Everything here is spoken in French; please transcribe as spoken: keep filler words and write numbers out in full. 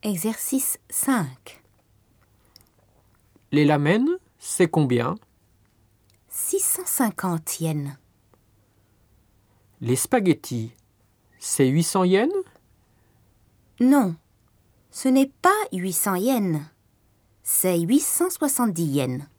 Exercice cinq. Les lamènes, c'est combien? six cent cinquante yens. Les spaghettis, c'est huit cents yens? Non, ce n'est pas huit cents yens. C'est huit cent soixante-dix yens.